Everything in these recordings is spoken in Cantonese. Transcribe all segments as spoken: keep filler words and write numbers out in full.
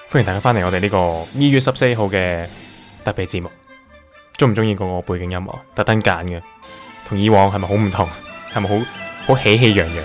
歡迎大家翻嚟我哋呢個二月十四號嘅特別節目。中唔中意嗰個背景音樂？特登揀嘅，同以往係咪好唔同？係咪好好喜氣洋洋？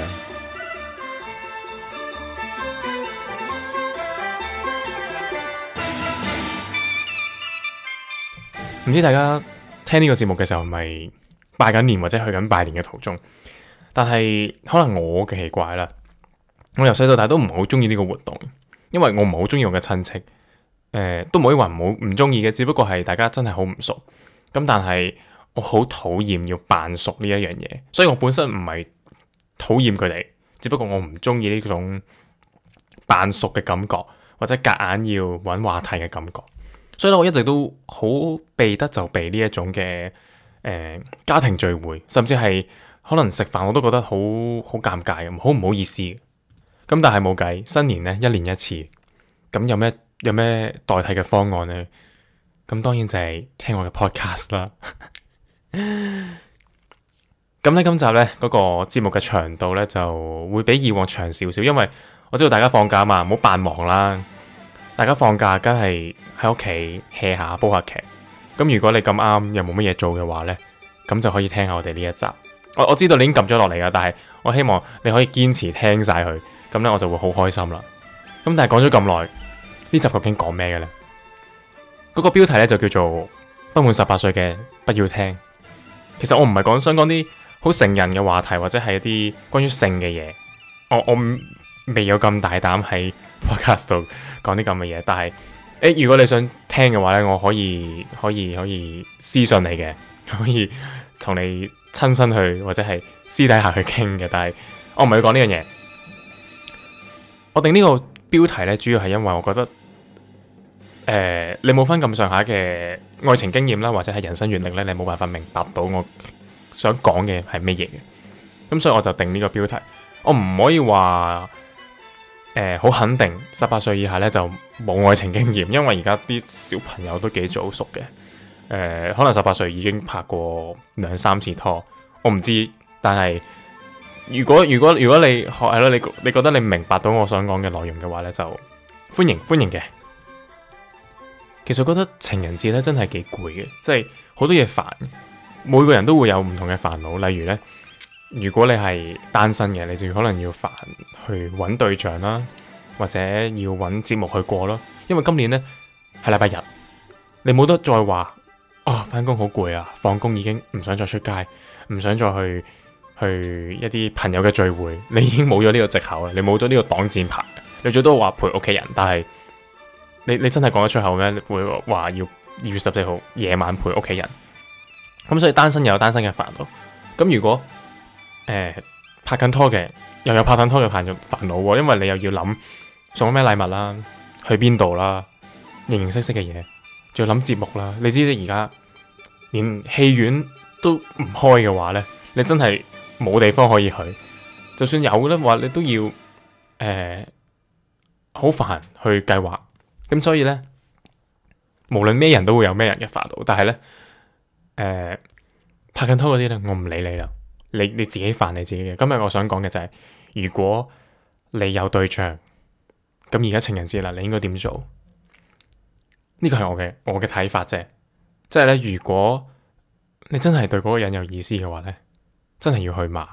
唔知大家聽呢個節目嘅時候係咪拜緊年或者去緊拜年嘅途中？但係可能我嘅奇怪啦，我由細到大都唔係好中意呢個活動，因為我唔係好中意我嘅親戚，誒、呃、都唔可以話唔好唔中意嘅，只不過係大家真係好唔熟。咁但係我好討厭要扮熟呢一樣嘢，所以我本身唔係討厭佢哋，只不過我唔中意呢種扮熟嘅感覺，或者夾硬要揾話題嘅感覺。所以咧，我一直都好避得就避呢一種嘅誒、呃、家庭聚會，甚至係可能食飯我都覺得好好尷尬咁，好唔好意思。咁但係冇計，新年咧一年一次，咁有咩有咩代替嘅方案呢？咁當然就係聽我嘅 podcast 啦。咁咧今集咧嗰、那個節目嘅長度咧就會比以往長少少，因為我知道大家放假嘛，唔好扮忙啦。大家放假梗係喺屋企 hea 下煲下劇。咁如果你咁啱又冇乜嘢做嘅話咧，咁就可以聽下我哋呢一集。我我知道你已經撳咗落嚟噶，但係我希望你可以堅持聽晒佢，咁咧我就會好開心啦。咁但係講咗咁耐，呢集究竟講咩嘅咧？嗰個標題咧就叫做不滿十八歲嘅不要聽。其實我唔係講想講啲好成人嘅話題，或者係一啲關於性嘅嘢。我我未有咁大膽喺 podcast 度講啲咁嘅嘢。但係誒，如果你想聽嘅話咧，我可以可以可以私信你嘅，可以同你親身去或者係私底下去傾嘅。但係我唔係要講呢樣嘢。我定呢個標題咧，主要係因為我覺得。誒、呃，你冇分咁上下嘅愛情經驗啦，或者係人生閱歷咧，你冇辦法明白到我想講嘅係乜嘢嘅。咁所以我就定呢個標題。我唔可以話誒好肯定十八歲以下咧就冇愛情經驗，因為而家啲小朋友都幾早熟嘅。誒、呃，可能十八歲已經拍過兩三次拖，我唔知。但係如果如果如果你係咯，你你覺得你明白到我想講嘅內容嘅話咧，就歡迎歡迎嘅。其實我覺得情人節咧真係幾攰嘅，即係好多嘢煩。每個人都會有唔同嘅煩惱，例如咧，如果你係單身嘅，你就可能要煩去揾對象啦，或者要揾節目去過咯。因為今年咧係禮拜日，你冇得再話啊，翻工好攰啊，放工已經唔想再出街，唔想再去去一啲朋友嘅聚會，你已經冇咗呢個藉口啦，你冇咗呢個擋箭牌，你最多話陪屋企人，但係。你你真係講得出口咩？會話要二月十四號夜晚陪屋企人，咁所以單身又有單身嘅煩惱。咁如果誒、呃、拍緊拖嘅，又有拍緊拖嘅煩煩惱喎，因為你又要諗送咩禮物啦，去邊度啦，形形色色嘅嘢，仲要諗節目啦。你知咧而家連戲院都唔開嘅話咧，你真係冇地方可以去。就算有咧話，你都要誒好煩去計劃。咁所以咧，無論咩人都會有咩人嘅煩惱，但係咧，誒、呃、拍緊拖嗰啲咧，我唔理你啦，你你自己煩你自己嘅。今日我想講嘅就係、是，如果你有對象，咁而家情人節啦，你應該點做？呢個係我嘅我嘅睇法啫。即係咧，如果你真係對嗰個人有意思嘅話咧，真係要去馬，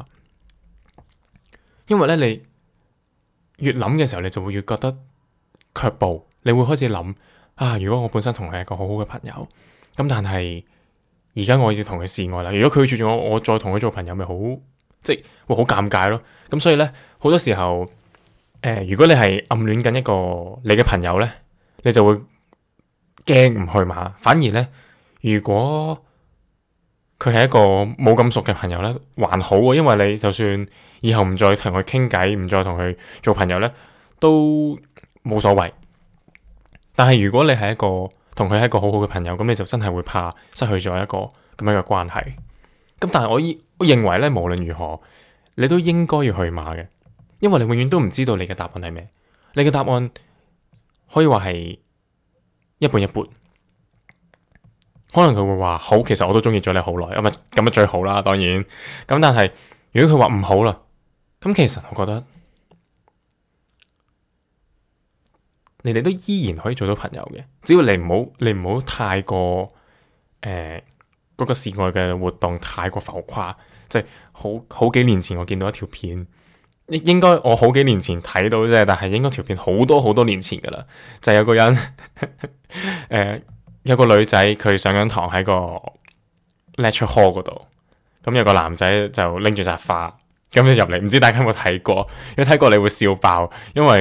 因為咧你越諗嘅時候，你就會越覺得卻步。你會開始諗啊，如果我本身同佢係一個好好嘅朋友，咁但係而家我要同佢示愛啦。如果佢拒絕我，我再同佢做朋友，咪好即係會好尷尬咯。咁所以咧，好多時候，誒、呃，如果你係暗戀緊一個你嘅朋友咧，你就會驚唔去馬。反而咧，如果佢係一個冇咁熟嘅朋友咧，還好喎，因為你就算以後唔再同佢傾偈，唔再同佢做朋友咧，都冇所謂。但係如果你係一個同佢係一個好好嘅朋友，咁你就真係會怕失去咗一個咁樣嘅關係。咁但係我依我認為咧，無論如何，你都應該要去馬嘅，因為你永遠都唔知道你嘅答案係咩。你嘅答案可以話係一半一半。可能佢會話好，其實我都中意咗你好耐，咁啊咁啊最好啦，當然。咁但係如果佢話唔好啦，咁其實我覺得。 你哋都依然可以做到朋友嘅，只要你唔好你唔好太過誒嗰、呃嗰個示愛嘅活動太過浮誇。即係好好幾年前我見到一條片，應應該我好幾年前睇到啫，但係應該條片好多好多年前噶啦，就係、有個人誒、呃、有個女仔佢上緊堂喺個 lecture hall 嗰度，咁有個男仔就拎住紮花咁就入嚟，唔知大家有冇睇過？如果睇過你會笑爆，因為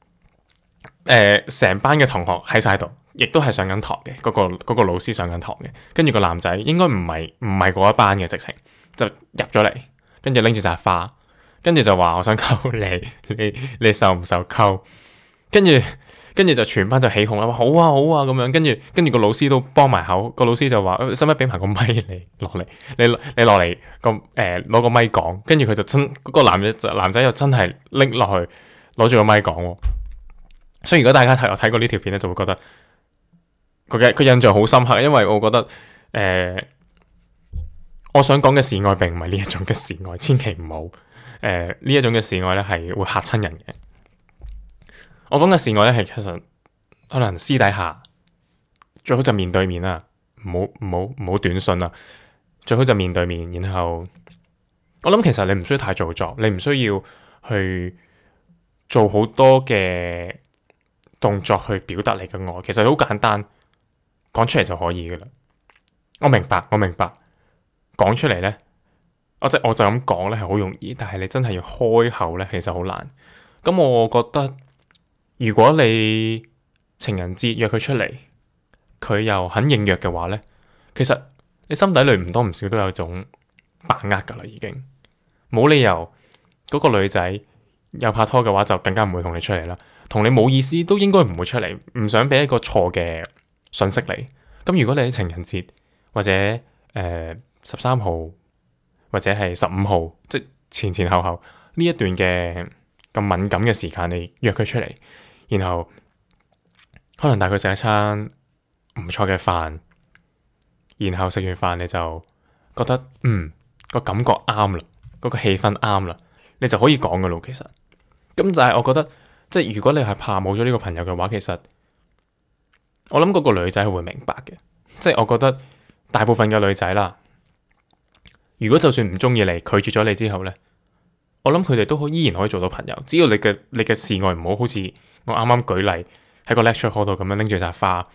誒成、呃、班嘅同學喺晒度，亦都係上緊堂嘅，嗰、嗰個、嗰個老師上緊堂嘅，跟住個男仔應該唔係唔係嗰一班嘅直情。就入咗嚟，跟住拎住紮花，跟住就話我想溝你，你你受唔受溝？跟住跟住就全班就起哄啦，話好啊好啊咁樣，跟住跟住個老師都幫埋口，個老師就話使唔使俾埋個咪你落嚟？你你落嚟個誒攞個咪講，跟住佢就真嗰、嗰個男仔男仔又真係拎落去攞住個咪講。所以如果大家睇我睇過呢條片咧，就會覺得佢嘅佢印象好深刻，因為我覺得誒。呃我想講嘅示愛並唔係呢一種嘅示愛，千祈唔好誒呢一種嘅示愛咧係會嚇親人嘅。我講嘅示愛咧係其實可能私底下最好就面對面啦，唔好唔好唔好短信啦，最好就面對面。然後我諗其實你唔需要太做作，你唔需要去做好多嘅動作去表達你嘅愛，其實好簡單，講出嚟就可以噶啦。我明白，我明白。講出嚟呢，我即我就咁講呢係好容易，但係你真係要開口呢，其實好難。咁我覺得，如果你情人節約佢出嚟，佢又肯應約嘅話呢，其實你心底裏唔多唔少都有種把握噶啦，已經冇理由嗰個女仔有拍拖嘅話就更加唔會同你出嚟啦。同你冇意思都應該唔會出嚟，唔想俾一個錯嘅信息你。咁如果你喺情人節或者誒，呃十三號或者係十五號，即前前後後呢一段嘅咁敏感嘅時間，你約佢出嚟，然後可能帶佢食一餐唔錯嘅飯，然後食完飯你就覺得嗯個感覺啱啦，嗰個氣氛啱啦，你就可以講噶咯。其實咁就係我覺得，即係如果你係怕冇咗呢個朋友嘅話，其實我諗嗰個女仔係會明白嘅。即係我覺得大部分嘅女仔啦。如果就算唔中意你，拒絕咗你之後呢，我諗佢哋都可依然可以做到朋友。只要你嘅你嘅示愛唔好好似我啱啱舉例喺個 lecture hall 度咁樣拎住紮花，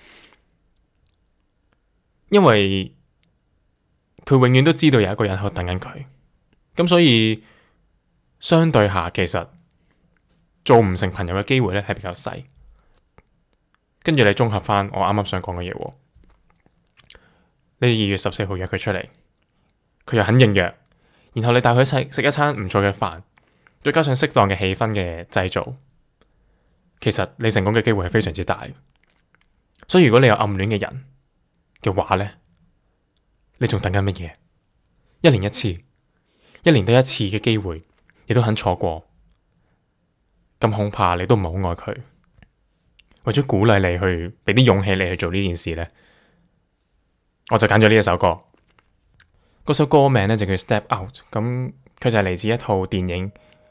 因為佢永遠都知道有一個人喺度等緊佢。咁所以相對下，其實做唔成朋友嘅機會呢係比較細。跟住你綜合翻我啱啱想講嘅嘢，你二月十四號約佢出嚟。佢又肯應約，然後你帶佢一齊食一餐唔錯嘅飯，再加上適當嘅氣氛嘅製造，其實你成功嘅機會係非常之大。所以如果你有暗戀嘅人嘅話呢，你仲等緊乜嘢？一年一次，一年得一次嘅機會，你都肯錯過，咁恐怕你都唔係好愛佢。為咗鼓勵你去，俾啲勇氣你去做呢件事呢，我就揀咗呢一首歌。嗰首歌名咧就叫 Step Out， 咁佢就係嚟自一套電影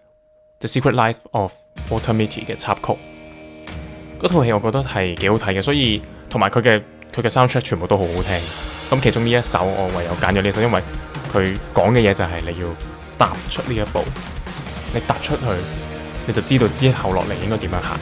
The Secret Life of Walter Mitty 嘅插曲。嗰套戲我覺得係幾好睇嘅，所以同埋佢嘅佢嘅 soundtrack 全部都好好聽。咁其中呢一首我唯有揀咗呢首，因為佢講嘅嘢就係你要踏出呢一步，你踏出去你就知道之後落嚟應該點樣行。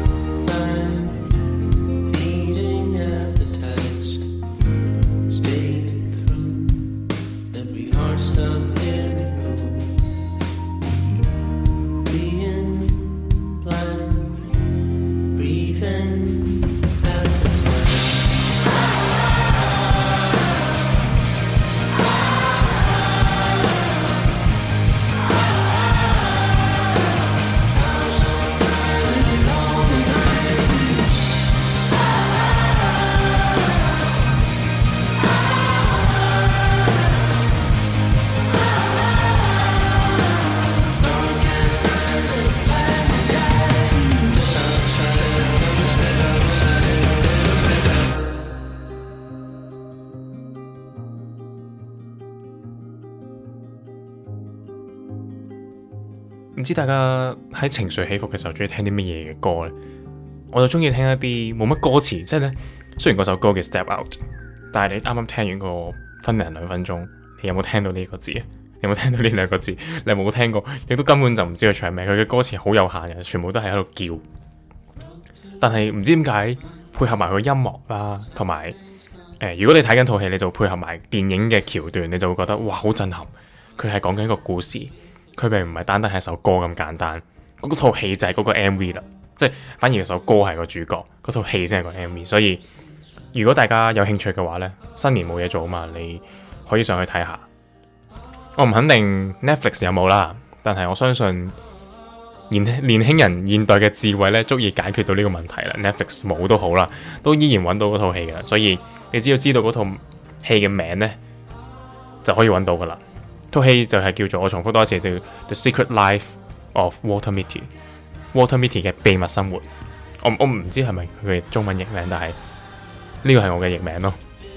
Stay 唔知大家喺情緒起伏嘅時候中意聽啲乜嘢嘅歌呢？我就中意聽一啲冇乜歌詞，即係呢，雖然嗰首歌叫 Step Out， 但係你啱啱聽完個分零兩分鐘，你有冇聽到呢個字啊？你有冇聽到呢兩個字？你有冇聽過？你都根本就唔知佢唱咩，佢嘅歌詞好有限嘅，全部都係喺度叫。但係唔知點解配合埋佢音樂啦，同埋誒，如果你睇緊套戲，你就配合埋電影嘅橋段，你就會覺得哇，好震撼！佢係講緊一個故事，佢並唔係單單係一首歌咁簡單。嗰套戲就係嗰個 M V 啦，即係反而嗰首歌係個主角，嗰套戲先係個 M V。所以如果大家有興趣嘅話呢，新年冇嘢做啊嘛，你可以上去睇下。我唔肯定 Netflix 有冇啦，但係我相信年年輕人現代嘅智慧咧，足以解決到呢個問題啦。Netflix 冇都好啦，都依然揾到嗰套戲噶，所以你只要知道嗰套戲嘅名呢，就可以揾到噶啦。套戲就係叫做，我重複多一次，叫 The Secret Life of Walter Mitty，Walter Mitty 嘅秘密生活。我我唔知係咪佢嘅中文譯名，但係呢個係我嘅譯名咯。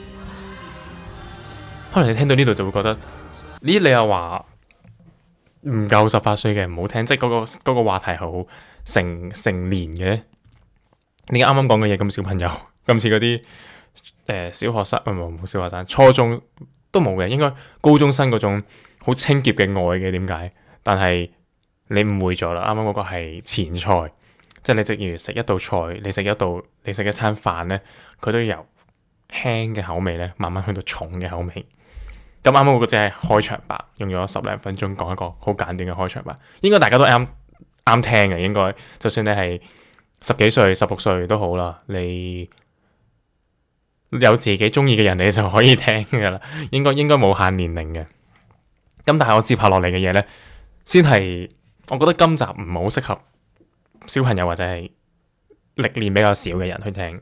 可能你聽到呢度就會覺得，呢你又話唔夠十八歲嘅唔好聽，即係嗰個嗰個話題好成成年嘅。你啱啱講嘅嘢咁小朋友，咁似嗰啲誒小學生，唔係冇小學生，初中都冇嘅，應該高中生嗰種好清潔嘅愛嘅。點解？但係你誤會咗啦，啱啱嗰個係前菜，即係你正如食一道菜，你食一道你食一餐飯咧，佢都由輕嘅口味咧，慢慢去到重嘅口味。咁啱啱嗰個只係開場白，用咗十零分鐘講一個好簡短嘅開場白，應該大家都啱啱聽嘅。應該就算你係十幾歲、十六歲都好啦，你有自己中意嘅人，你就可以聽噶啦。應該應該冇限年齡嘅。咁但係我接下落嚟嘅嘢呢，先係我覺得今集唔係好適合小朋友或者係歷練比較少嘅人去聽。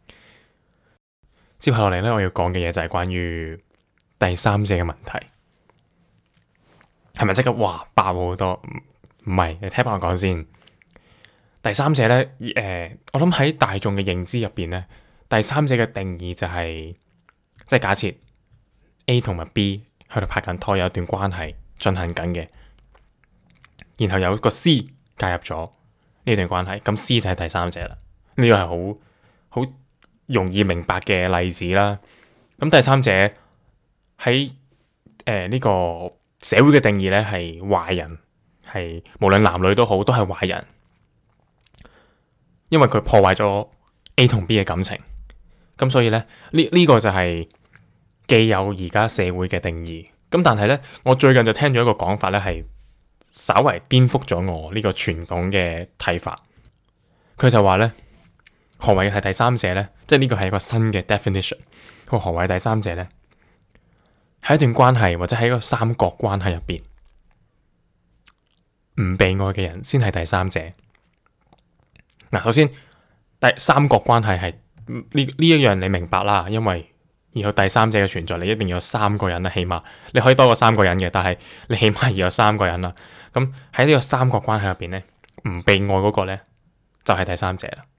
接下落嚟呢，我要講嘅嘢就係關於第三者嘅問題，係咪即刻哇爆好多？唔係，你聽翻我講先。第三者呢，誒、呃，我諗喺大眾嘅認知入邊呢，第三者嘅定義就係、是，即係假設 A 同埋 B 喺度拍緊拖，有一段關係進行緊嘅，然後有個 C 介入咗呢段關係，咁 C 就係第三者啦。呢個係好好容易明白嘅例子啦。咁第三者喺誒呢個社會嘅定義咧，係壞人，係無論男女都好，都係壞人，因為佢破壞咗 A 同 B 嘅感情。咁所以咧，呢呢、呢個就係既有而家社會嘅定義。咁但係咧，我最近就聽咗一個講法咧，係稍為顛覆咗我呢個傳統嘅睇法。佢就話咧，何謂係第三者咧？即係呢個係一個新嘅 definition。佢話何謂第三者咧？喺一段關係或者喺一個三角關係入邊，唔被愛嘅人先係第三者。嗱，首先第三角關係係呢呢一樣你明白啦，因為要有第三者嘅存在，你一定要有三個人啦，起碼你可以多過三個人嘅，但係你起碼要有三個人啦。咁喺呢個三角關係入邊咧，唔被愛嗰個咧就係第三者啦。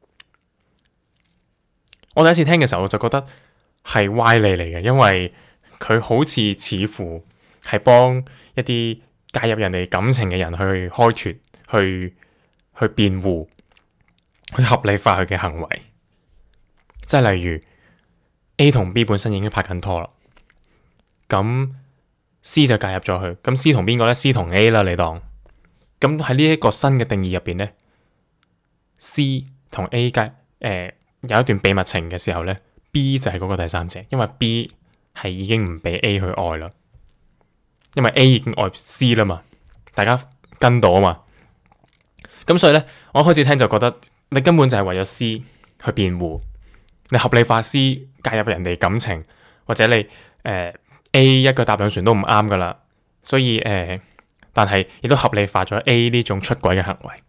我第一次聽嘅時候，我就覺得係歪理嚟嘅，因為佢好似似乎係幫一啲介入人哋感情嘅人去開脫、去去辯護、去合理化佢嘅行為。即係例如 A 同 B 本身已經拍緊拖啦，咁 C 就介入咗佢。咁 C 同邊個呢？C 同 A 啦，你當。咁喺呢一個新嘅定義入邊呢， C 同 A 介誒、呃、有一段秘密情嘅時候呢， B 就係嗰個第三者，因為 B係已經唔俾 A 去愛啦，因為 A 已經愛 C 啦嘛，大家跟到啊嘛。咁所以咧，我一開始聽就覺得你根本就係為咗 C 去辯護，你合理化 C 介入人哋感情，或者你誒、呃、A 一腳踏兩船都唔啱噶啦。所以誒、呃，但係亦都合理化咗 A 呢種出軌嘅行為。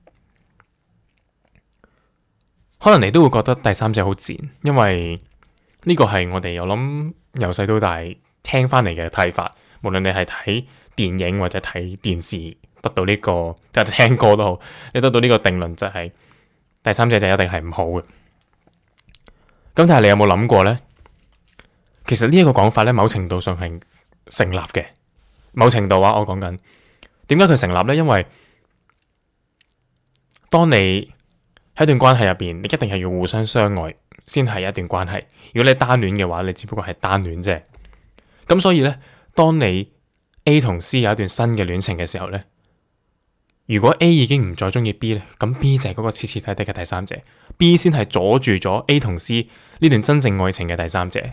可能你都會覺得第三者好賤，因為呢個係我哋我諗由細到大聽翻嚟嘅睇法，無論你係睇電影或者睇電視，得到呢、這個即係聽歌都好，你得到呢個定論就係、是、第三者就一定係唔好嘅。咁但係你有冇諗過呢？其實呢一個講法咧，某程度上係成立嘅。某程度啊，我講緊點解佢成立呢？因為當你喺一段關係入邊，你一定係要互相相愛先係一段關係。如果你單戀嘅話，你只不過係單戀啫。咁所以呢，當你 A 同 C 有一段新嘅戀情嘅時候呢，如果 A 已經唔再中意 B 呢，咁 B 就係嗰個徹徹底底嘅第三者。B 先係阻住咗 A 同 C 呢段真正愛情嘅第三者。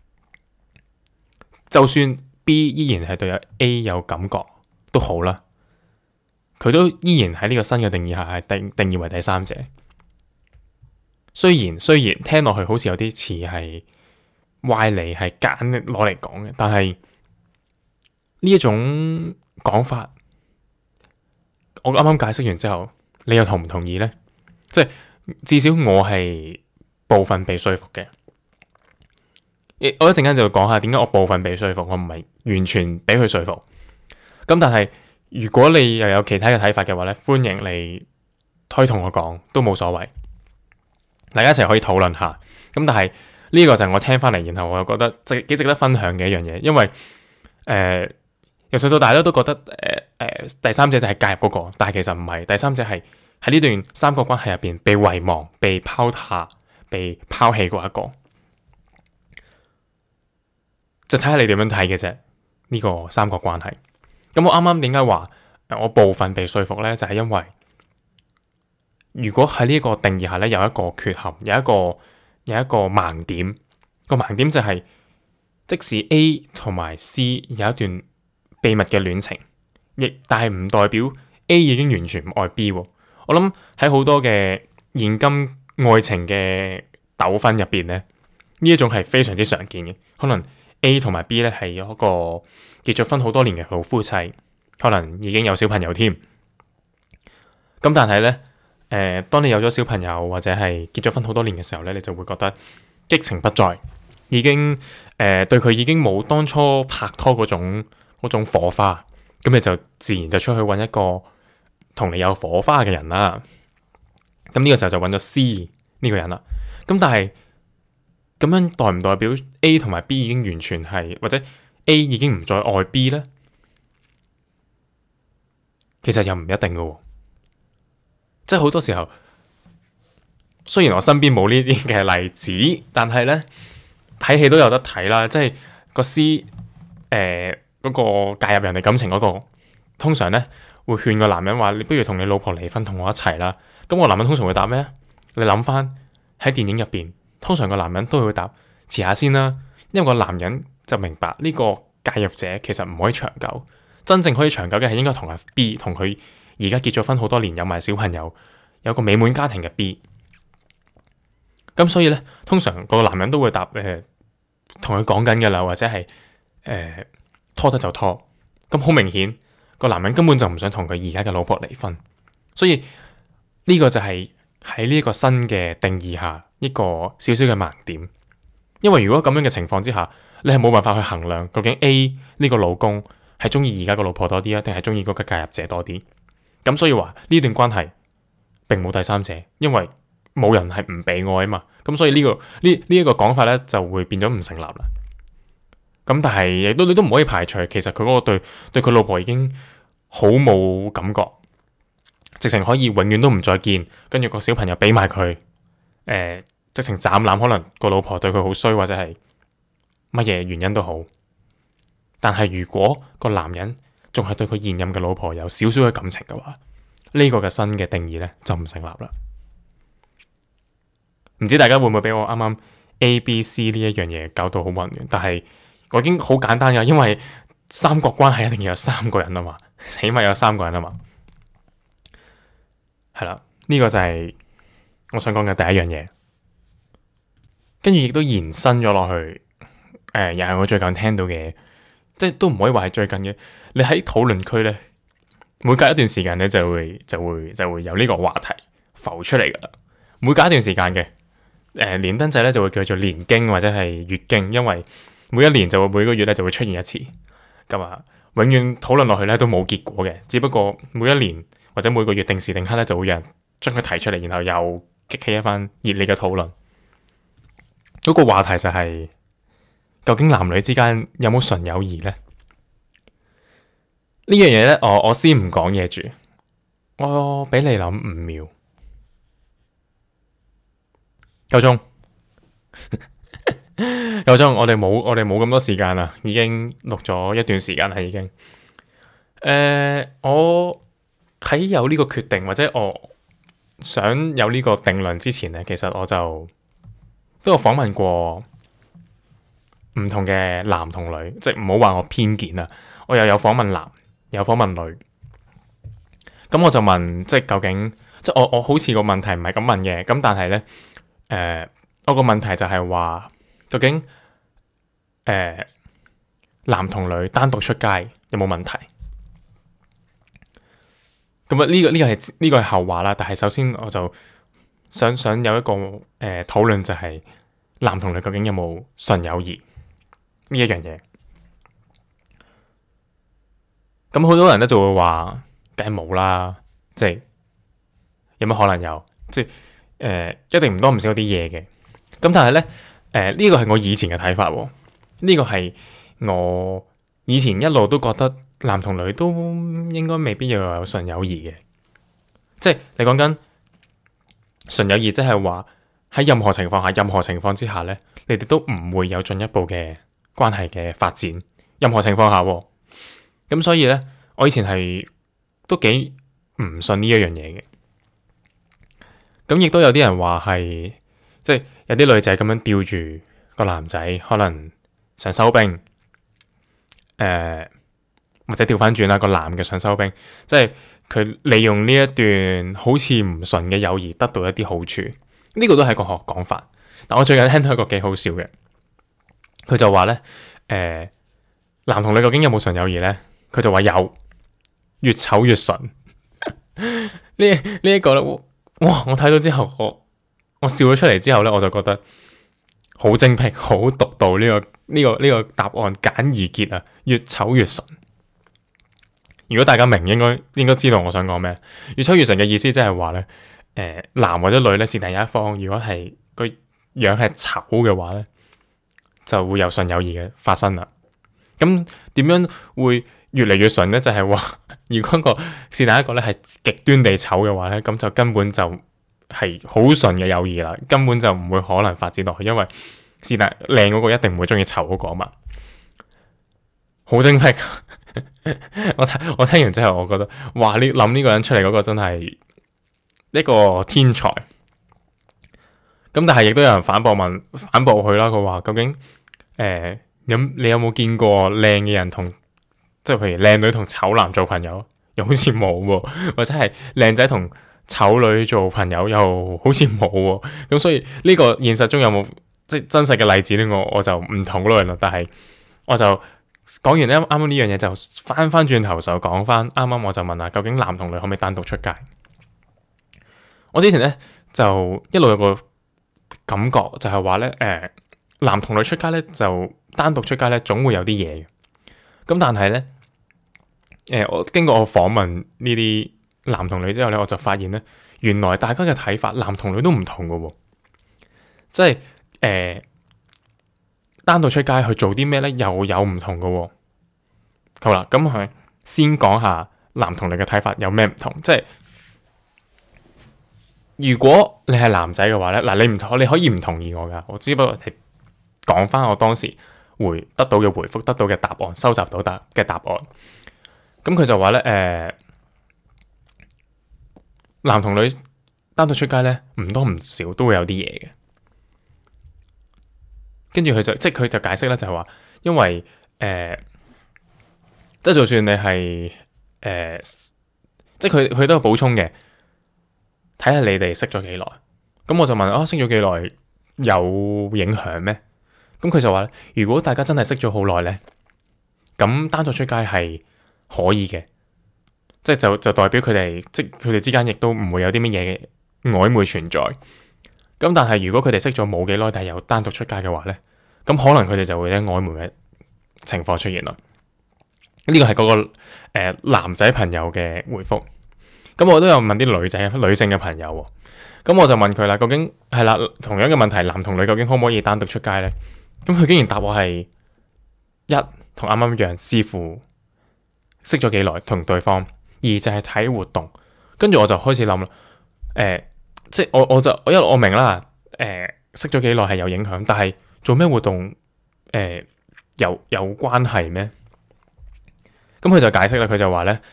就算 B 依然係對 A 有感覺都好啦，佢都依然喺呢個新嘅定義下係定定義為第三者。雖然雖然聽落去好似有啲似係歪理，係揀攞嚟講嘅，但係呢一種講法，我啱啱解釋完之後，你又同唔同意呢？即係至少我係部分被說服嘅。我一陣間就會講下點解我部分被說服，我唔係完全俾佢說服。咁但係如果你又有其他嘅睇法嘅話咧，歡迎你推同我講，都冇所謂，大家一齊可以討論下。咁但係呢個就係我聽翻嚟，然後我又覺得值幾值得分享嘅一樣嘢，因為誒、呃、由細到大咧都覺得誒誒、呃呃、第三者就係介入嗰個，但係其實唔係，第三者係喺呢段三角關係入邊被遺忘、被拋下、被拋棄嗰一個。就睇下你點樣睇嘅啫，呢個三角關係。咁我啱啱點解話我部分被說服呢？就係因為如果喺呢個定義下呢，有一個缺陷，有一個有一個盲點。個盲點就係即使 A 同埋 C 有一段秘密嘅戀情，亦但係唔代表 A 已經完全唔愛 B。我諗喺好多嘅現今愛情嘅糾紛入邊呢，呢一種係非常之常見嘅，可能。A 同埋 B 咧係有一個結咗婚好多年嘅老夫妻，可能已經有小朋友添。咁但係咧，誒、呃，當你有咗小朋友或者係結咗婚好多年嘅時候咧，你就會覺得激情不再，已經誒、呃、對佢已經冇當初拍拖嗰種嗰種火花，咁你就自然就出去揾一個同你有火花嘅人啦。咁呢個時候就揾咗 C 呢個人啦。咁但係，咁樣代唔代表 A 同埋 B 已經完全係，或者 A 已經唔再愛 B 呢？其實又唔一定嘅，即係好多時候，雖然我身邊冇呢啲嘅例子，但係呢，睇戲都有得睇啦。即係個 C 誒、呃、嗰、嗰個介入人哋感情嗰、嗰個，通常呢會勸個男人話：你不如同你老婆離婚，同我一齊啦。咁個男人通常會答咩？你諗翻喺電影入邊。通常個男人都會答遲下先啦，因為個男人就明白呢個介入者其實唔可以長久，真正可以長久嘅係應該同阿 B， 同佢而家結咗婚好多年，有埋小朋友，有個美滿家庭嘅 B。咁所以呢，通常個男人都會答誒，同佢講緊嘅啦，或者係誒、呃、拖得就拖。咁好明顯，個男人根本就唔想同佢而家嘅老婆離婚，所以呢個就係喺呢一個新嘅定義下。一個少少嘅盲點，因為如果咁樣嘅情況之下，你係冇辦法去衡量究竟 A 呢個老公係中意而家個老婆多啲啊，定係中意嗰個介入者多啲？咁所以話呢段關係並冇第三者，因為冇人係唔被愛啊嘛。咁所以呢、這個呢呢一個講法咧就會變咗唔成立啦。咁但係亦都你都唔可以排除，其實佢嗰個對對佢老婆已經好冇感覺，直情可以永遠都唔再見，跟住個小朋友俾埋佢。誒、呃，直情斬纜，可能個老婆對佢好衰，或者係乜嘢原因都好。但係如果個男人仲係對佢現任嘅老婆有少少嘅感情嘅話，呢、這個嘅新嘅定義咧就唔成立啦。唔知大家會唔會俾我啱啱 A、B、C 呢一樣嘢搞到好混亂？但係我已經好簡單噶，因為三角關係一定要有三個人啊嘛，起碼有三個人啊嘛。係啦，呢、這個就係、是。我想講嘅第一樣嘢，跟住亦都延伸咗落去，誒、呃，又係我最近聽到嘅，即係都唔可以話係最近嘅。你喺討論區咧，每隔一段時間咧就會就會就會有呢個話題浮出嚟噶啦。每隔一段時間嘅，誒、呃，連登仔咧就會叫做年經或者係月經，因為每一年就會每個月咧就會出現一次，咁啊，永遠討論落去咧都冇結果嘅，只不過每一年或者每個月定時定刻咧就會有人將佢提出嚟，然後又激起一番熱烈嘅討論。嗰、那個話題就係、是、究竟男女之間有冇純友誼呢？呢樣嘢咧，我我先唔講嘢住，我俾你諗五秒。 夠鐘，夠鐘。我哋冇我哋冇咁多時間啦，已經錄咗一段時間啦，已經。誒、呃，我喺有呢個決定或者我想有呢個定論之前咧，其實我就都有訪問過唔同嘅男同女，即係唔好話我偏見啦。我又有訪問男，有訪問女。咁我就問，即係究竟，即係我我好似個問題唔係咁問嘅，咁但係咧，誒、呃，我個問題就係話，究竟誒、呃、男同女單獨出街有冇問題？咁啊呢個呢、呢個係呢、呢個係後話啦。但係首先我就想想有一個誒討論，呃、就係男同女究竟有冇純友誼呢一樣嘢？咁好多人咧就會話，梗係冇啦，即係有乜可能有？即係誒、呃，一定唔多唔少啲嘢嘅。咁但係咧，誒呢個係我以前嘅睇法，呢、呢個係我以前一路都覺得男同女都應該未必要有純友誼嘅。即係你講緊純友誼，即係話喺任何情況下、任何情況之下咧，你哋都唔會有進一步嘅關係嘅發展。任何情況下。咁所以咧，我以前係都幾唔信呢一樣嘢嘅。咁亦都有啲人話係，即係有啲女仔咁樣吊住個男仔，可能想收兵，誒、呃、或者調翻轉啦，個男嘅想收兵，即係佢利用呢一段好似唔純嘅友誼得到一啲好處。呢、呢個都係個學講法。但我最近聽到一個幾好笑嘅，佢就話咧，誒、呃、男同女究竟有冇純友誼咧？佢就話有，越醜越純。呢呢一個咧，哇！我睇到之後，我我笑咗出嚟之後咧，我就覺得好精闢、好獨到呢、這個呢、這個呢、這個答案簡而潔啊！越醜越純。如果大家明，應該應該知道我想講咩。越醜越純嘅意思即係話咧，誒、呃、男或者女咧，是但有一方，如果係個樣係醜嘅話咧，就會有純友誼嘅發生啦。咁點樣會越嚟越純咧？就係、是、話，如果個是但一個咧係極端地醜嘅話咧，咁就根本就係好純嘅友誼啦，根本就唔會可能發展落去，因為是但靚嗰個一定唔會中意醜嗰個嘛。好精闢，我睇我聽完之後，我覺得哇！你諗呢個人出嚟嗰個真係一個天才。咁但係亦都有人反駁問反駁佢啦，佢話究竟誒？呃有你有冇見過靚嘅人同，即係譬如靚女同醜男做朋友？又好似冇喎，或者係靚仔同醜女做朋友，又好似冇喎。咁所以呢個現實中有冇即係真實嘅例子咧？我我就唔討論啦。但係我就講完啱啱呢樣嘢，就翻翻轉頭就講翻啱啱我就問下，究竟男同女可唔可以單獨出街？我之前咧就一路有個感覺就係話咧，誒、呃、男同女出街咧就。單獨出街咧，總會有啲嘢嘅。咁但係咧，誒、呃，我經過我訪問呢啲男同女之後咧，我就發現咧，原來大家嘅睇法，男同女都唔同嘅喎。即係誒、呃，單獨出街去做啲咩咧，又有唔同嘅喎。好啦，咁係先講下男同女嘅睇法有咩唔同。即係如果你係男仔嘅話咧，嗱，你唔同，你可以唔同意我噶，我只不過係講翻我當時。回得到嘅回覆，得到嘅答案，收集到答嘅答案。咁佢就話咧，誒、呃，男同女單獨出街咧，唔多唔少都會有啲嘢嘅。跟住佢就即係佢就解釋咧，就係話，因為誒、呃，即係就算你係誒、呃，即係佢佢都有補充嘅，睇下你哋識咗幾耐。咁我就問啊，識咗幾耐有影響咩？咁佢就話咧，如果大家真係識咗好耐咧，咁單獨出街係可以嘅，即係就就代表佢哋即係佢哋之間亦都唔會有啲乜嘢嘅曖昧存在。咁但係如果佢哋識咗冇幾耐，但係又單獨出街嘅話咧，咁可能佢哋就會有曖昧嘅情況出現啦。呢個係嗰個誒男仔朋友嘅回覆。咁我都有問啲女仔女性嘅朋友，咁我就問佢啦，究竟係啦，同樣嘅問題，男同女究竟可唔可以單獨出街咧？咁佢竟然答我係一同啱啱一樣，視乎識咗幾耐同對方；二就係睇活動。跟住我就開始諗啦，誒、呃，即係我我就因為我明啦，誒、呃， 識咗幾耐係有影響，但係做咩活動誒、呃、有有關係咩？咁佢就解釋啦，佢就話咧，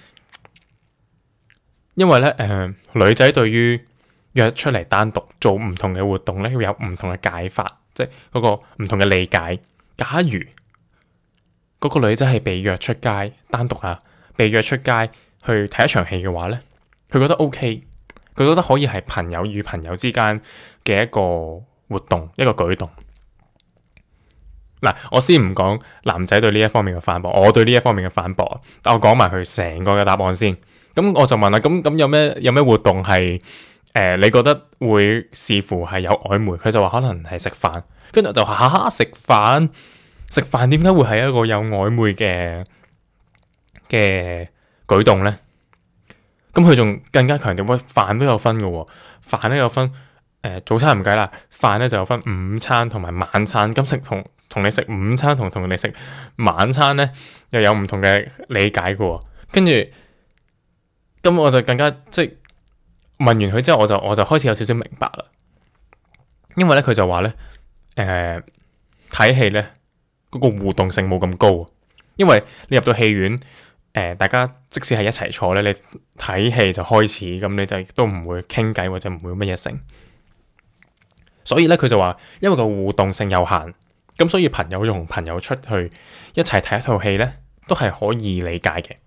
因為咧誒、呃、女仔對於約出嚟單獨做唔同嘅活動咧，要有唔同嘅解法，即係嗰個唔同嘅理解。假如嗰個女仔係被約出街單獨啊，被約出街去睇一場戲嘅話咧，佢覺得 OK，佢覺得可以係朋友與朋友之間嘅一個活動，一個舉動。嗱，我先唔講男仔對呢一方面嘅反駁，我對呢一方面嘅反駁，但我講埋佢成個嘅答案先。咁我就問啦，咁咁有咩有咩活動係誒、呃？你覺得會視乎係有曖昧？佢就話可能係食飯，跟住就話嚇食飯，食飯點解會係一個有曖昧嘅嘅舉動咧？咁佢仲更加強調，喂，飯都有分嘅喎，飯都有分誒、呃、早餐唔計啦，飯咧就有分午餐同埋晚餐。咁食同同你食午餐同同你食晚餐咧，又有唔同嘅理解嘅喎。跟住咁我就更加即係問完佢之後，我就我就開始有少少明白啦。因為咧佢就話咧誒睇戲咧嗰個互動性冇咁高，因為你入到戲院。誒、呃，大家即使係一齊坐咧，你睇戲就開始，咁你就都唔會傾偈或者唔會乜嘢成。所以咧，佢就話，因為個互動性有限，咁所以朋友同朋友出去一齊睇一套戲咧，都係可以理解嘅。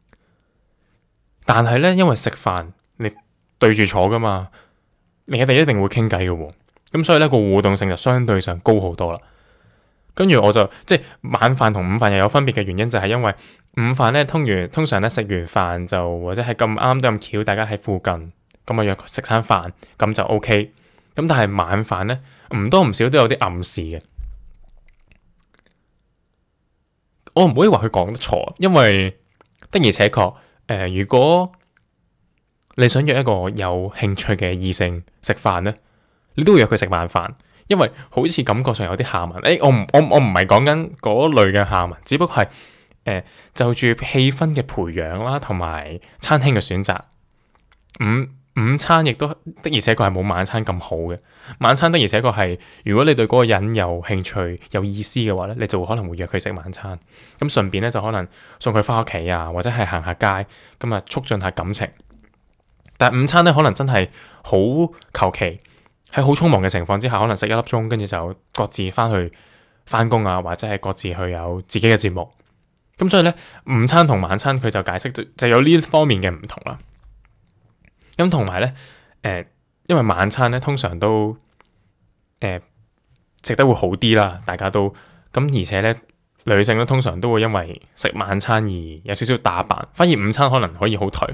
但係咧，因為食飯你對住坐噶嘛，你哋一定會傾偈嘅喎，咁所以咧個互動性就相對上高好多啦。跟住我就即係晚飯同午飯又有分別嘅原因，就係因為午飯咧，通完通常咧食完飯就或者係咁啱得咁巧，大家喺附近咁啊約食餐飯咁就 OK。咁但係晚飯咧唔多唔少都有啲暗示嘅。我唔可以話佢講得錯，因為的而且確誒、呃，如果你想約一個有興趣嘅異性食飯咧，你都會約佢食晚飯。因為好似感覺上有啲下文，誒、欸，我唔我我唔係講緊嗰類嘅下文，只不過係誒、呃、就住氣氛嘅培養啦，同埋餐廳嘅選擇。午午餐亦都的而且確係冇晚餐咁好嘅。晚餐的而且確係，如果你對嗰個人有興趣、有意思嘅話咧，你就可能會約佢食晚餐。咁順便咧就可能送佢翻屋企啊，或者係行下街，咁啊促進下感情。但係午餐咧可能真係好求其。喺好匆忙嘅情況之下，可能食一粒鐘，跟住就各自翻去翻工啊，或者係各自去有自己嘅節目。咁所以咧，午餐同晚餐佢就解釋就就有呢方面嘅唔同啦。咁同埋咧，誒、呃，因為晚餐咧通常都誒、呃、食得會好啲啦，大家都咁，而且咧女性咧通常都會因為食晚餐而有少少打扮，反而午餐可能可以好頹。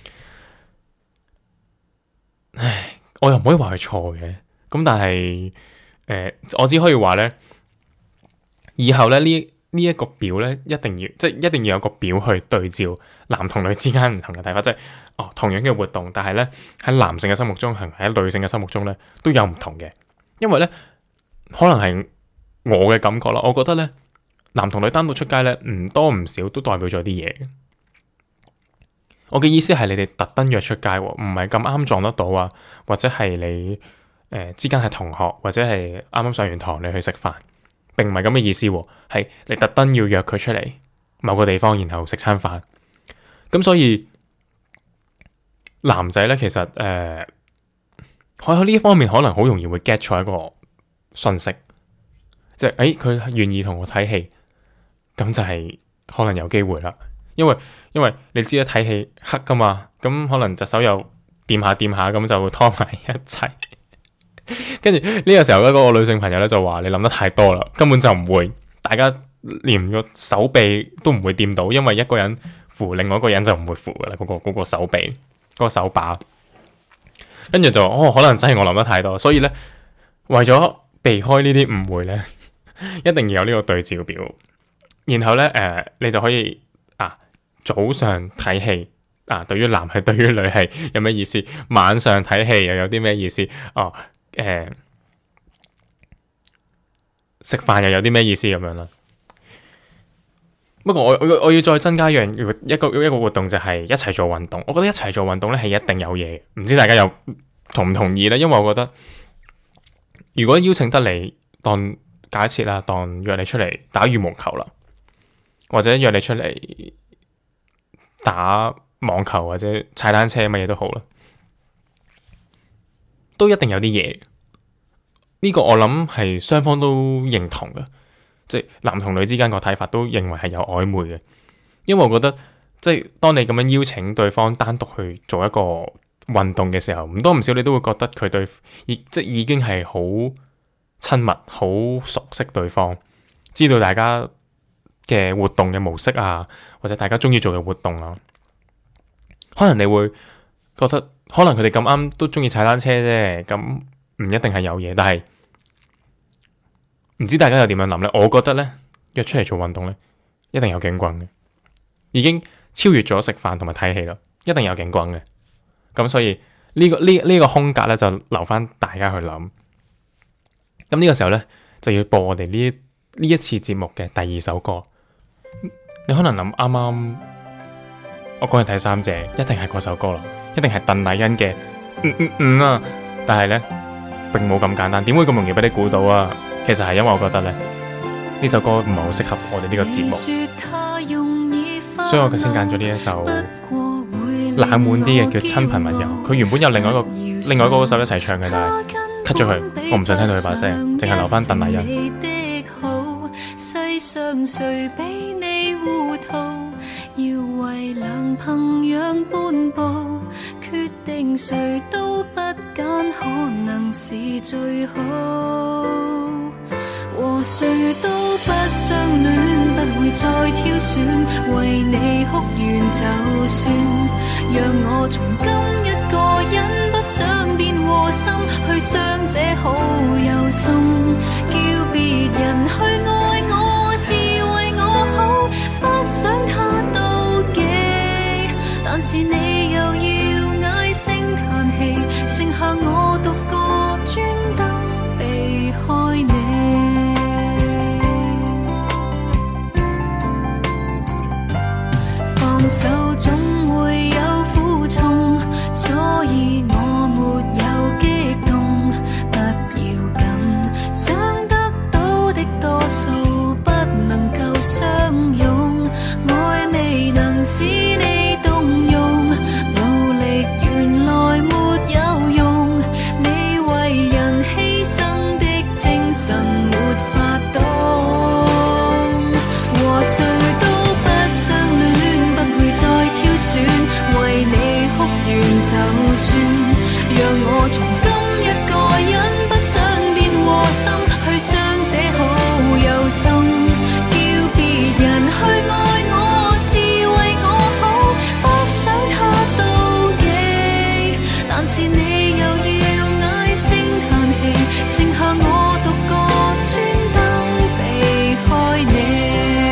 唉。我又唔可以話佢錯嘅，咁但係誒、呃，我只可以話咧，以後咧呢呢一個表咧，一定要即係一定要有個表去對照男同女之間唔同嘅睇法，即係哦同樣嘅活動，但係咧喺男性嘅心目中，同喺女性嘅心目中咧都有唔同嘅，因為咧可能係我嘅感覺啦，我覺得咧男同女單獨出街咧唔多唔少都代表咗啲嘢嘅。我嘅意思係你哋特登約出街，唔係咁啱撞得到啊，或者係你誒、呃、之間係同學，或者係啱啱上完堂你去食飯，並唔係咁嘅意思，係你特登要約佢出嚟某個地方，然後食餐飯。咁所以男仔咧，其實誒喺呢一方面可能好容易會 get 錯一個訊息，即係誒佢願意同我睇戲，咁就係可能有機會啦。因為因為你知啦，睇戲黑噶嘛，咁可能隻手又掂下掂下，咁就會拖埋一齊。跟住呢個時候咧，嗰、那個女性朋友咧就話：你諗得太多啦，根本就唔會，大家連個手臂都唔會掂到，因為一個人扶，另外一個人就唔會扶噶啦，嗰、那個、那個手臂，嗰、那個手把。跟住就哦，可能真係我諗得太多，所以咧為咗避開呢啲誤會咧，一定要有呢個對照表，然後咧誒、呃，你就可以。早上睇戲啊，對於男係對於女係有咩意思？晚上睇戲又有啲咩意思？哦，誒、呃，食飯又有啲咩意思咁樣啦？不過我我我要再增加一樣一個一個活動，就係一齊做運動。我覺得一齊做運動咧係一定有嘢，唔知大家有同唔同意咧？因為我覺得如果邀請得你，當假設啦，當約你出嚟打羽毛球啦，或者約你出嚟打網球或者踩單車乜嘢都好啦，都一定有啲嘢。呢個我諗係雙方都認同嘅，即係男同女之間個睇法都認為係有曖昧嘅。因為我覺得即係當你咁樣邀請對方單獨去做一個運動嘅時候，唔多唔少你都會覺得佢對已即已經係好親密、好熟悉對方，知道大家嘅活動嘅模式啊，或者大家中意做嘅活動啊。可能你會覺得可能佢哋咁啱都中意踩單車啫，咁唔一定係有嘢，但係唔知大家又點樣諗呢？我覺得呢，約出嚟做運動呢，一定有景轟嘅，已經超越咗食飯同埋睇戲啦，一定有景轟嘅。咁所以呢、這個呢呢、這個空格呢，就留翻大家去諗。咁呢個時候呢，就要播我哋呢呢一次節目嘅第二首歌。你可能諗啱啱我講嘅睇三姐，一定係嗰首歌啦，一定係鄧麗欣嘅嗯嗯嗯啊！但係呢，並冇咁簡單，點會咁容易俾你估到啊？其實係因為我覺得呢，呢首歌唔係好適合我哋呢個節目，所以我先揀咗呢一首冷門啲嘅叫《親朋密友》。佢原本有另外一個另外一個歌手一齊唱嘅，但係 cut 咗佢，我唔想聽到佢把聲，淨係留翻鄧麗欣。世上誰比你糊塗，要為良朋養半步，決定誰都不揀，可能是最好。和誰都不相戀，不會再挑選，為你哭完就算，讓我從今一個人不想變禍心，去傷者好有心，叫別人去愛我是為我好，不想他妒忌，但是你又要唉聲嘆氣，剩下我獨個專登避開你。放手總會有苦衷，所以我沒有激動，不要緊，想得到的多數不能夠相擁，愛未能使你動容，努力原來沒有用，你為人犧牲的精神沒法懂，和誰都不相戀，不會再挑選，為你哭完就算，讓我從今一個人不想變禍心，去傷者好有心，叫別人去愛我是為我好，不想他妒忌，但是你又要唉聲嘆氣，剩下我獨個專登避開你。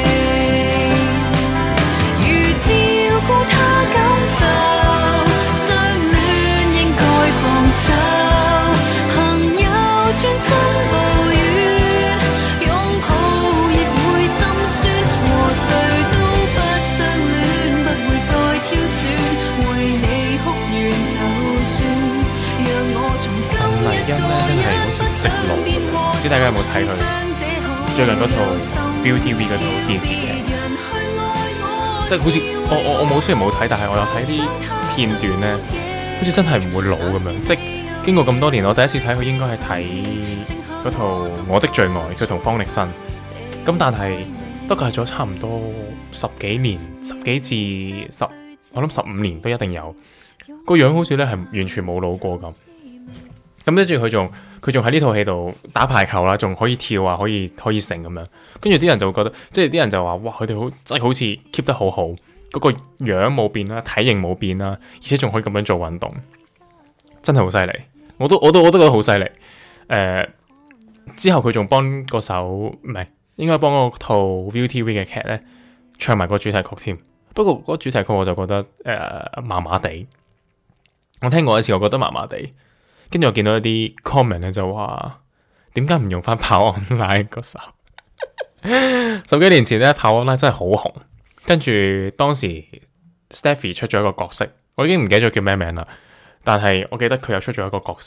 如照顧他感受，相戀應該放手，朋友專心抱怨，擁抱亦會心酸，和誰都不相戀，不會再挑選，為你哭完就算，讓我從今一個人不想變禍心，唔知大家有冇睇佢最近嗰套 ViuTV 嗰套電視劇，即係好似我我我冇雖然冇睇，但係我有睇啲片段咧，好似真係唔會老咁樣。即係經過咁多年，我第一次睇佢應該係睇嗰套《我的最愛》，佢同方力申。咁但係都隔咗差唔多十幾年，十幾至十，我諗十五年都一定有。個樣好似咧係完全冇老過咁。咁跟住佢仲佢仲喺呢套戲度打排球啦，仲可以跳啊，可以可以成咁樣。跟住啲人就會覺得，即係啲人就話：哇，佢哋好真係好似 keep 得好好，嗰個樣冇變啦，體型冇變啦，而且仲可以咁樣做運動，真係好犀利。我都我都我都覺得好犀利。誒、呃，之後佢仲幫嗰首唔係應該幫嗰套 ViuTV 嘅劇咧唱埋個主題曲添。不過嗰個主題曲我就覺得誒麻麻地。我聽過一次，我覺得麻麻地。跟住我見到一啲 comment 咧就話，點解唔用翻跑 online 嗰首？十幾年前咧跑 online 真係好紅，跟住當時 Stephy 出咗一個角色，我已經唔記得咗叫咩名啦，但係我記得佢又出咗一個角色，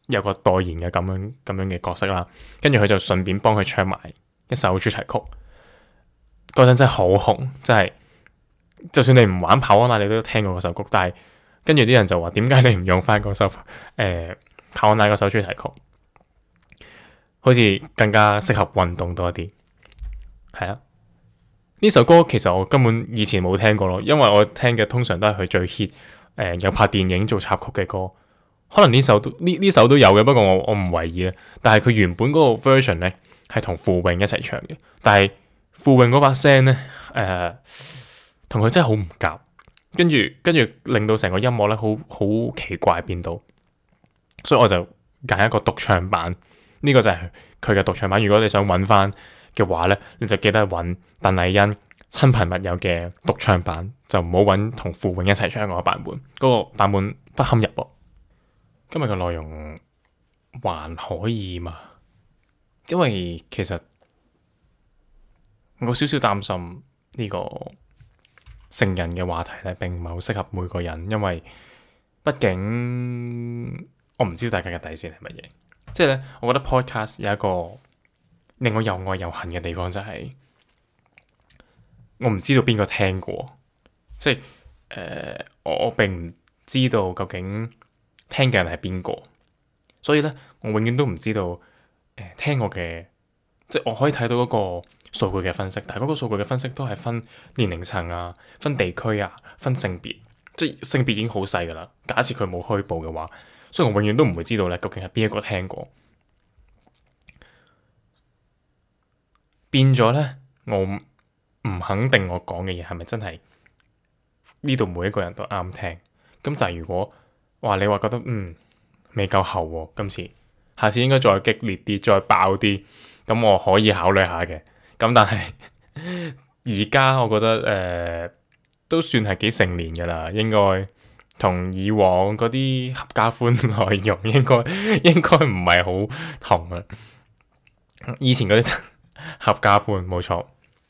有個代言嘅咁樣咁樣嘅角色啦，跟住佢就順便幫佢唱埋一首主題曲。嗰陣真係好紅，真係就算你唔玩跑安娜，你都聽過嗰首曲。但係跟住啲人就話，點解你唔用翻嗰首誒、呃、跑安娜嗰首主題曲？好似更加適合運動多啲。係啊，呢首歌其實我根本以前冇聽過咯，因為我聽嘅通常都係佢最 hit 誒、呃、有拍電影做插曲嘅歌。可能呢首都呢呢首都有嘅，不過我我唔為意啊。但係佢原本嗰個 version 咧係同傅穎一齊唱嘅，但係傅穎嗰把聲咧誒同佢真係好唔夾，跟住跟住令到成個音樂咧好好奇怪變到，所以我就揀一個獨唱版。呢、這個就係佢嘅獨唱版。如果你想揾翻嘅話咧，你就記得揾鄧麗欣親朋密友嘅獨唱版，就唔好揾同傅穎一齊唱嗰個版本，嗰、那個版本不堪入目。今日嘅內容還可以嘛？因為其實我少少擔心呢個成人嘅話題咧，並唔係好適合每個人，因為畢竟我唔知大家嘅底線係乜嘢。即係咧，我覺得 podcast 有一個令我又愛又恨嘅地方，就係我唔知道邊個聽過，即係誒、呃，我我並唔知道究竟聽嘅人係邊個，所以咧，我永遠都唔知道誒、呃、聽我嘅，即係我可以睇到嗰個數據嘅分析，但係嗰個數據嘅分析都係分年齡層啊、分地區啊、分性別，即係性別已經好細噶啦。假設佢冇虛報嘅話，所以我永遠都唔會知道咧，究竟係邊一個聽過。變咗咧，我唔肯定我講嘅嘢係咪真係呢度每一個人都啱聽。咁但係如果話你話覺得嗯未夠厚喎，今次下次應該再激烈啲，再爆啲，咁我可以考慮下嘅。咁但係而家我覺得誒、呃、都算係幾成年噶啦，應該同以往嗰啲合家歡內容應該應該唔係好同啦。以前嗰啲合家歡冇錯。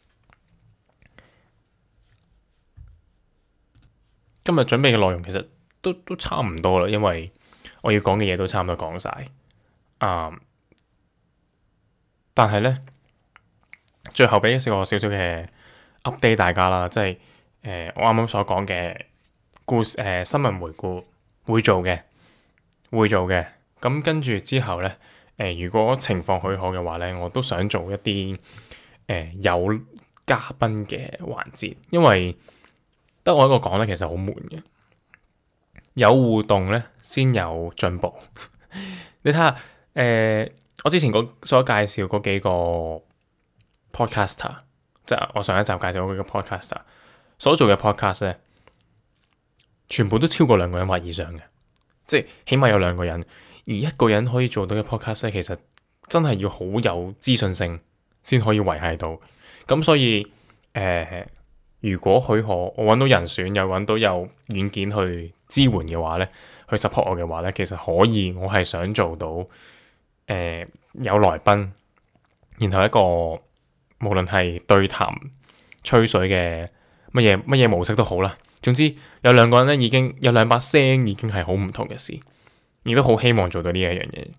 今日準備嘅內容其實都都差唔多啦，因為我要講嘅嘢都差唔多講晒。啊、嗯，但係咧，最後俾一個少少嘅 update 大家啦，即係誒、呃、我啱啱所講嘅故事誒、呃、新聞回顧會做嘅，會做嘅。咁跟住之後咧，誒、呃、如果情況許可嘅話咧，我都想做一啲誒、呃、有嘉賓嘅環節，因為得我一個講咧，其實好悶嘅。有互動咧，先有進步。你睇下，誒、呃，我之前所介紹嗰幾個 podcaster，即係我上一集介紹嗰幾個 podcaster 所做嘅 podcast 咧，全部都超過兩個人或以上嘅，即係起碼有兩個人。而一個人可以做到嘅 podcast 咧，其實真係要好有資訊性先可以維繫到。咁所以，誒、呃，如果許可，我揾到人選，又揾到有軟件去支援嘅話咧，去 support 我嘅話咧，其實可以。我係想做到誒、呃、有來賓，然後一個無論係對談、吹水嘅乜嘢乜嘢模式都好啦。總之有兩個人咧，已經有兩把聲，已經係好唔同嘅事，亦都好希望做到呢一樣嘢。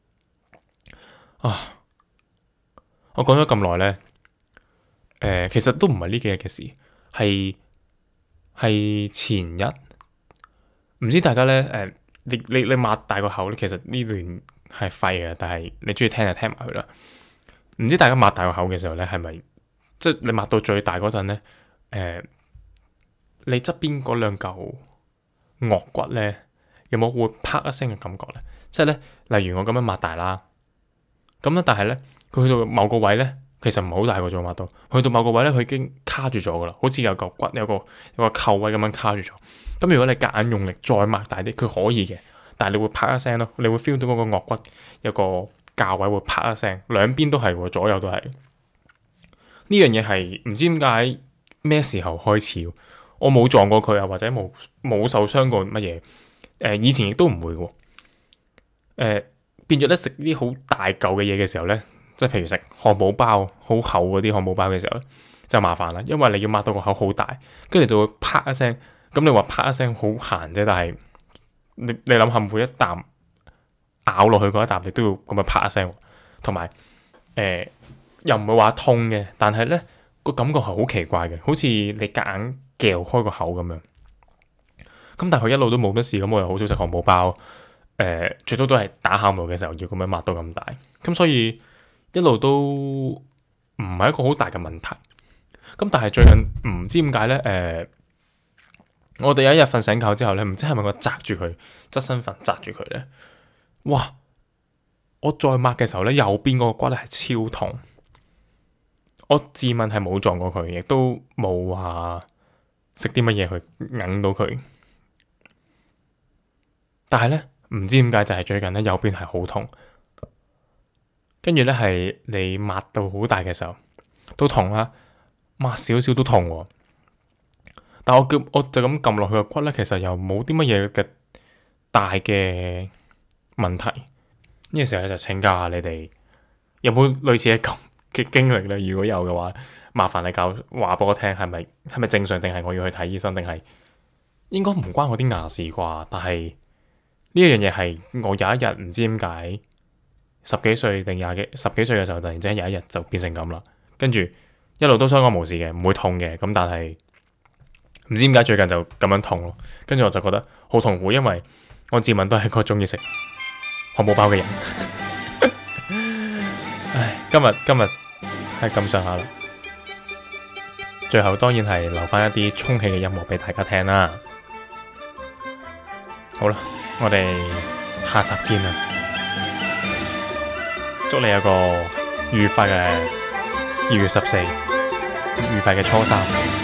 啊！我講咗咁耐咧，誒、呃，其實都唔係呢幾日嘅事，係係前日。唔知大家咧，誒、呃，你你你擘大個口咧，其實呢段係廢嘅，但係你中意聽就聽埋佢啦。唔知大家擘大個口嘅時候咧，係咪即係你擘到最大嗰陣咧？誒、呃，你側邊嗰兩嚿顎骨咧，有冇會啪一聲嘅感覺咧？即係咧，例如我咁樣擘大啦，咁咧，但係咧，佢去到某個位咧，其實唔係好大個咗擘到，去到某個位咧，佢已經卡住咗噶啦，好似有嚿骨有個有個扣位咁樣卡住咗。咁如果你夾硬用力再擘大啲，佢可以嘅，但係你會啪一聲咯，你會 feel 到嗰個顎骨有個架位會啪一聲，兩邊都係，左右都係。呢樣嘢係唔知點解咩時候開始，我冇撞過佢啊，或者冇冇受傷過乜嘢。誒、呃，以前亦都唔會嘅。誒、呃，變咗咧，食啲好大嚿嘅嘢嘅時候咧，即係譬如食漢堡包好厚嗰啲漢堡包嘅時候咧，就麻煩啦，因為你要擘到個口好大，跟住就會啪一聲。咁你話啪一聲好閒啫，但係你你諗下每一啖咬落去嗰一啖，你都要咁樣啪一聲，同埋誒又唔會話痛嘅，但係咧個感覺係好奇怪嘅，好似你夾硬嚼開個口咁樣。咁但係佢一路都冇乜事，咁我又好少食漢堡包，誒、呃、最多都係打喊路嘅時候要咁樣擘到咁大，咁所以一路都唔係一個好大嘅問題。咁但係最近唔知點解咧，誒、呃、我哋有一日瞓醒覺之後咧，唔知係咪我紮住佢側身瞓紮住佢咧，哇！我再擘嘅時候咧，右邊嗰個骨咧係超痛。我自問係冇撞過佢，亦都冇話食啲乜嘢去揞到佢。但係咧，唔知點解就係最近咧右邊係好痛，跟住咧係你擘到好大嘅時候都痛啦，擘少少都痛喎。但我叫我就咁撳落去個骨咧，其實又冇啲乜嘢嘅大嘅問題。呢個時候咧就請教下你哋有冇類似嘅咁嘅經歷咧？如果有嘅話，麻煩你教話俾我聽，係咪係咪正常，定係我要去睇醫生，定係應該唔關我啲牙事啩？但係呢一樣嘢係我有一日唔知點解十幾歲定廿幾十幾歲嘅時候，突然之間有一日就變成咁啦。跟住一路都相安無事嘅，唔會痛嘅。咁但係唔知點解最近就咁樣痛咯。跟住我就覺得好痛苦，因為我自問都係個中意食漢堡包嘅人。唉，今日今日係咁上下啦。最後當然係留翻一啲充氣嘅音樂俾大家聽啦。好啦，我哋下集見啦！祝你有個愉快嘅二月十四，愉快嘅初三。